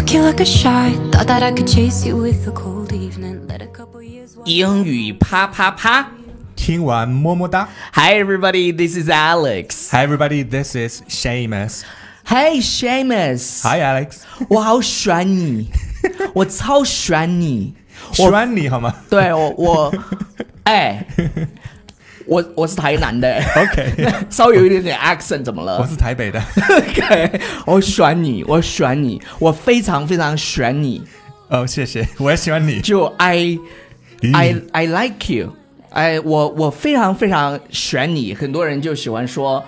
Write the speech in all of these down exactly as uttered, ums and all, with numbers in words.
you like a shot. Thought that I could chase you with a cold evening. Let a couple years walk. 英语啪啪啪。 听完么么哒。 Hi everybody, this is Alex. Hi everybody, this is Seamus. Hey Seamus. Hi Alex. 我好喜欢你，我超喜欢你。 喜欢你好吗？ 对我我，哎，我我是台南的 OK 稍微有一点点 accent 怎么了？ 我是台北的。 OK， 我喜欢你，我喜欢你，我非常非常喜欢你。 哦，谢谢，我也喜欢你。 就 I I I like you， 哎，我我非常非常喜欢你。很多人就喜欢说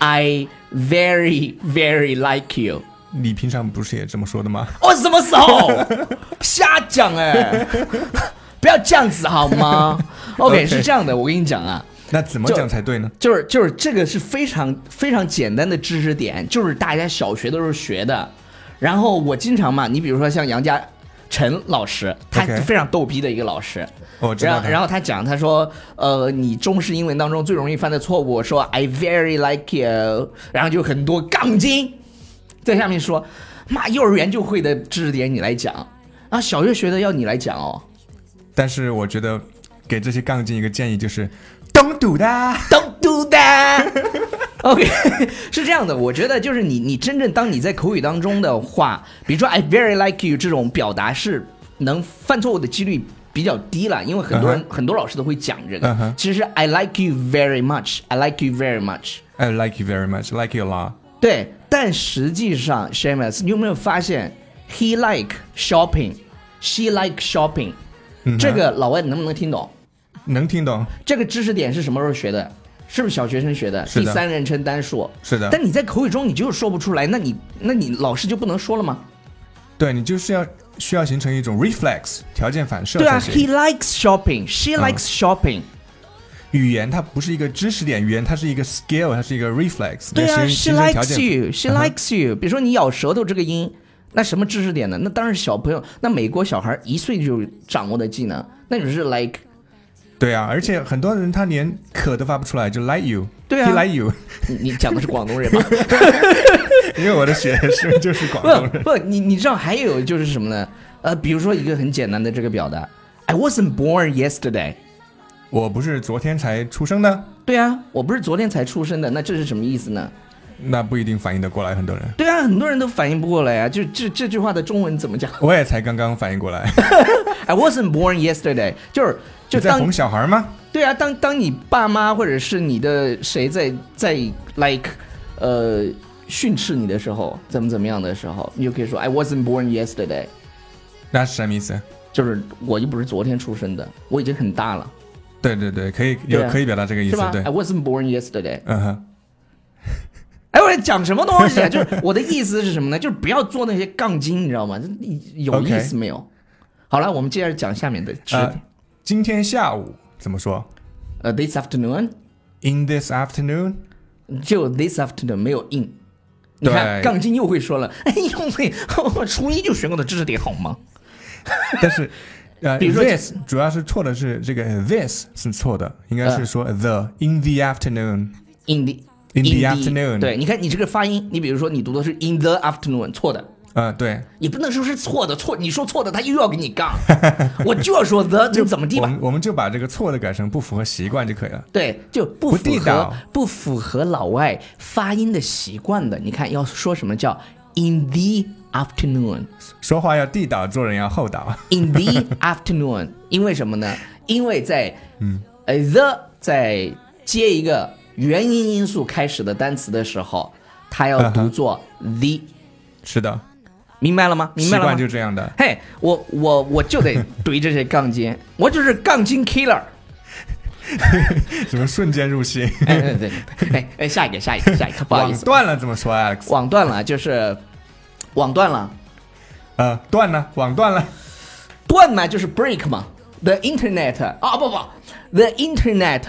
I very very like you。 你平常不是也这么说的吗？ 我什么时候瞎讲哎？不要这样子好吗 ？OK， okay 是这样的，我跟你讲啊。 那怎么讲才对呢？ 就是就是这个是非常非常简单的知识点，就是大家小学的时候学的。然后我经常嘛，你比如说像杨家陈老师，他 Okay 非常逗逼的一个老师。 我知道他。 然后然后他讲，他说，呃，你中式英文当中最容易犯的错误，说 I very like you， 然后就很多杠精在下面说，妈，幼儿园就会的知识点你来讲，啊，小学学的要你来讲哦。 但是我觉得给这些杠精一个建议就是 Don't do that Don't do that 。OK， 是这样的，我觉得就是你，你真正当你在口语当中的话，比如说 I very like you 这种表达是能犯错误的几率比较低了，因为很多人、uh-huh. 很多老师都会讲这个。 Uh-huh. 其实 I like you very much, I like you very much, I like you very much, I like you a lot。 对，但实际上 Seamus， 你有没有发现 He like shopping, she like shopping，、嗯、这个老外能不能听懂？ 能听懂。 这个知识点是什么时候学的？是不是小学生学的？ 是的。 第三人称单数。 是的。 但你在口语中你就是说不出来，那你那你老师就不能说了吗？ 对，你就是要需要形成一种 reflex 条件反射。 对啊 ，He likes shopping, she likes、嗯、shopping。 语言它不是一个知识点，语言它是一个 skill， 它是一个 reflex。 对啊 ，She likes you, she likes you、嗯。比如说你咬舌头这个音，那什么知识点呢？那当然是小朋友，那美国小孩一岁就掌握的技能，那就是 like。 对啊，而且很多人他连可都发不出来，就 like you。 对啊 ，He like you 你。你讲的是广东人吗？ 因为我的学生就是广东人。 不，不你你知道还有就是什么呢？呃，比如说一个很简单的这个表达 ，I wasn't born yesterday。 我不是昨天才出生的。 对啊，我不是昨天才出生的，那这是什么意思呢？ 那不一定反应得过来，很多人。 对啊，很多人都反应不过来啊！就这这句话的中文怎么讲？ 我也才刚刚反应过来。 I wasn't born yesterday， 就是就当你在哄小孩吗？ 对啊，当当你爸妈或者是你的谁在在 like 呃训斥你的时候，怎么怎么样的时候，你就可以说 I wasn't born yesterday。 那是什么意思？ 就是我又不是昨天出生的，我已经很大了。 对对对，可以有、啊、可以表达这个意思， 是吧？ 对。 I wasn't born yesterday。 嗯哼。 哎，我在讲什么东西啊？就是我的意思是什么呢？就是不要做那些杠精，你知道吗？有意思没有？ Okay. 好了，我们接着讲下面的知识点、呃。 今天下午怎么说？ 呃、uh, ，this afternoon。 In this afternoon。 就 this afternoon 没有 in。你看，杠精又会说了，哎呦，我初一就学过的知识点好吗？ 但是。呃、 比如说 this 主要是错的是这个 this 是错的，应该是说 the、呃、in the afternoon in the in the, the afternoon。 对，你看你这个发音，你比如说你读的是 in the afternoon， 错的。 呃，对， 也不能说是错的，错你说错的，他又要给你杠，我就要说 the 就怎么地吧。 我们我们就把这个错的改成不符合习惯就可以了。 对，就不符合不地道不符合老外发音的习惯的。你看要说什么叫 in the afternoon， 说话要地道，做人要厚道。 In the afternoon， 因为什么呢？因为在嗯、 呃 the 在接一个元音因素开始的单词的时候，它要读作 the。 是的。 明白了吗？明白了吗？ 习惯就这样的。 嘿，我我我就得怼这些杠精，我就是杠精 killer。 怎么瞬间入戏？ 哎对对对，哎哎，下一个下一个下一个，不好意思， 网断了怎么说 ，Alex？ 网断了就是网断了， 呃，断了，网断了， 断嘛就是 break 嘛 ，the internet 啊不不 ，the internet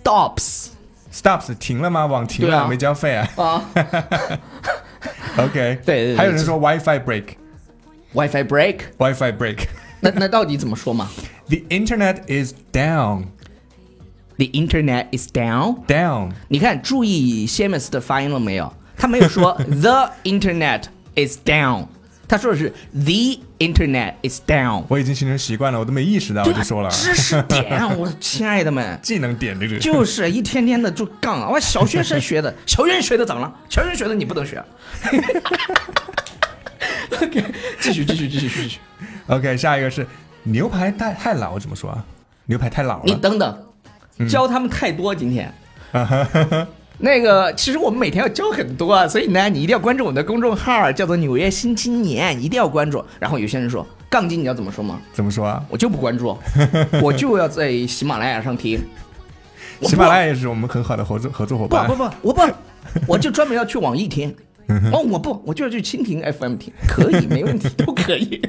stops。stops 停了吗？网停了，啊、没交费啊。 啊。 OK， 对, 对, 对， 还有人说 WiFi break，WiFi break，WiFi break， 那那到底怎么说嘛 ？The internet is down。The internet is down. Down。 你看，注意 Seamus 的发音了没有？他没有说 the internet is down， 他说的是 The internet is down。 我已经形成习惯了，我都没意识到，我就说了。 知识点，我亲爱的们， 技能点这个就是一天天的就杠。我小学生学的，小学生学的怎么了？小学生学的你不能学。OK， 继续继续继续继续。 OK， 下一个是牛排太太老怎么说啊？牛排太老了。 你等等，教他们太多今天。那个，其实我们每天要教很多啊，所以呢，你一定要关注我们的公众号，叫做《纽约新青年》，一定要关注。然后有些人说，杠精你要怎么说吗？ 怎么说啊？ 我就不关注，我就要在喜马拉雅上听。 喜马拉雅也是我们很好的合作合作伙伴。 不不不，我不，我就专门要去网易听。哦，我不，我就要去蜻蜓 F M 听，可以，没问题，都可以。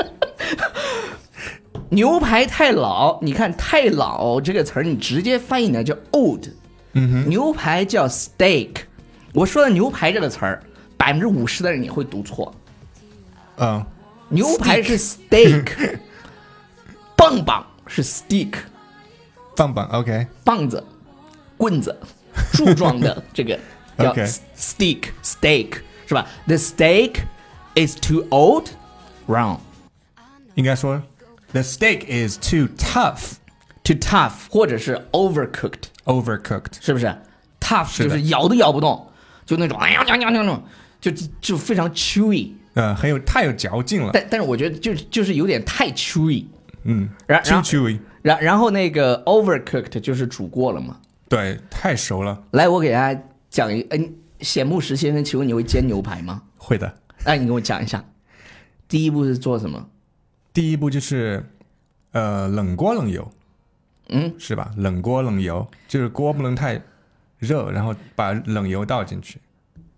牛排太老，你看太老这个词儿，你直接翻译呢叫 old。 嗯哼， 牛排叫 steak， 我说的牛排这个词儿，百分之五十的人也会读错。 嗯， 牛排是 steak， 棒棒是 stick， 棒棒 OK， 棒子、棍子、柱状的这个叫 Okay. stick steak 是吧 ？The steak is too old, round。 应该说 the steak is too tough。Too tough 或者是 overcooked overcooked 是不是 tough 是就是咬都咬不动，就那种哎呀呀呀那种，就就非常 chewy， 呃，很有太有嚼劲了。 但但是我觉得就就是有点太 chewy， 嗯， 然 too chewy， 然然后那个 overcooked 就是煮过了嘛， 对，太熟了。 来，我给大家讲一，嗯，显木石先生，请问你会煎牛排吗？ 会的。 哎，你给我讲一下，第一步是做什么？ 第一步就是呃冷锅冷油。 嗯， 是吧？冷锅冷油就是锅不能太热，然后把冷油倒进去。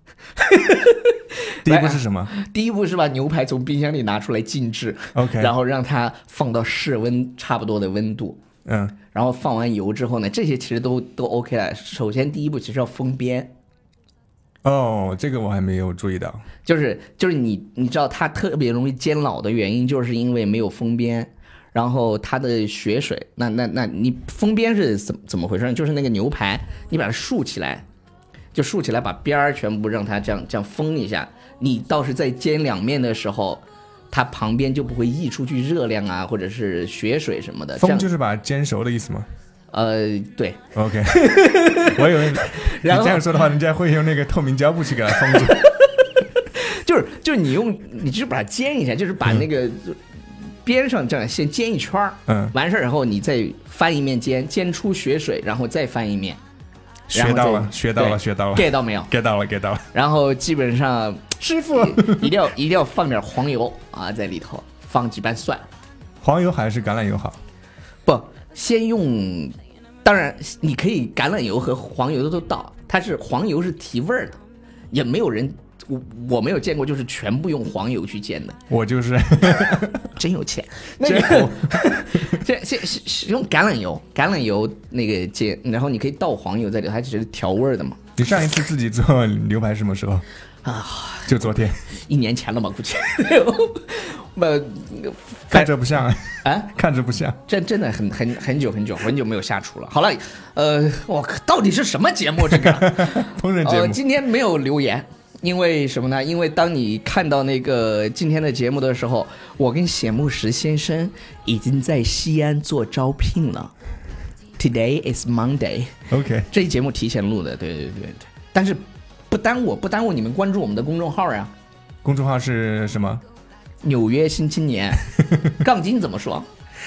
第一步是什么？ 第一步是把牛排从冰箱里拿出来静置 ，OK， 然后让它放到室温差不多的温度， 嗯， 然后放完油之后呢，这些其实都都 OK 了。首先第一步其实要封边。 哦，这个我还没有注意到。 就是就是你你知道它特别容易煎老的原因，就是因为没有封边。然后它的血水，那那那你封边是怎怎么回事呢？就是那个牛排，你把它竖起来，就竖起来，把边儿全部让它这样这样封一下。你倒是在煎两面的时候，它旁边就不会溢出去热量啊，或者是血水什么的。 封就是把它煎熟的意思吗？ 呃，对。 OK， 我以为你这样说的话，人家会用那个透明胶布去给它封住。 就是就是你用，你就是把它煎一下，就是把那个。嗯边上这样先煎一圈， 嗯， 完事儿以后你再翻一面煎，煎出血水，然后再翻一面。 学到了，学到了，学到了 ，get 到没有 ？get 到了 ，get 到了。 然后基本上， 师傅一定要一定要放点黄油啊在里头，放几瓣蒜。 黄油还是橄榄油好？ 不，先用，当然你可以橄榄油和黄油都倒，它是黄油是提味儿的，也没有人。我我没有见过，就是全部用黄油去煎的。 我就是真有钱。那个，这这是用橄榄油，橄榄油那个煎，然后你可以倒黄油在里头，它只是调味的嘛。 你上一次自己做牛排什么时候啊？ 就昨天， 一年前了吧？估计。呃， 看着不像啊， 看着不像， 真真的很很很久很久很久没有下厨了。好了，呃，我到底是什么节目？这个烹饪节目、 呃，今天没有留言。因为什么呢？因为当你看到那个今天的节目的时候，我跟显木石先生已经在西安做招聘了。Today is Monday。OK， 这一节目提前录的，对对对对。但是不耽误，不耽误你们关注我们的公众号呀。 公众号是什么？ 纽约新青年。杠精怎么说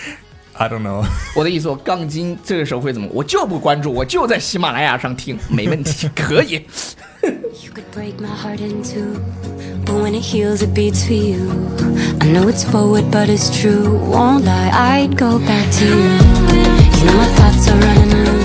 ？I don't know。 我的意思说，杠精这个时候会怎么？我就不关注，我就在喜马拉雅上听，没问题，可以。 You could break my heart in two, but when it heals it beats for you. I know it's forward but it's true, won't lie, I'd go back to you. You know my thoughts are running loose.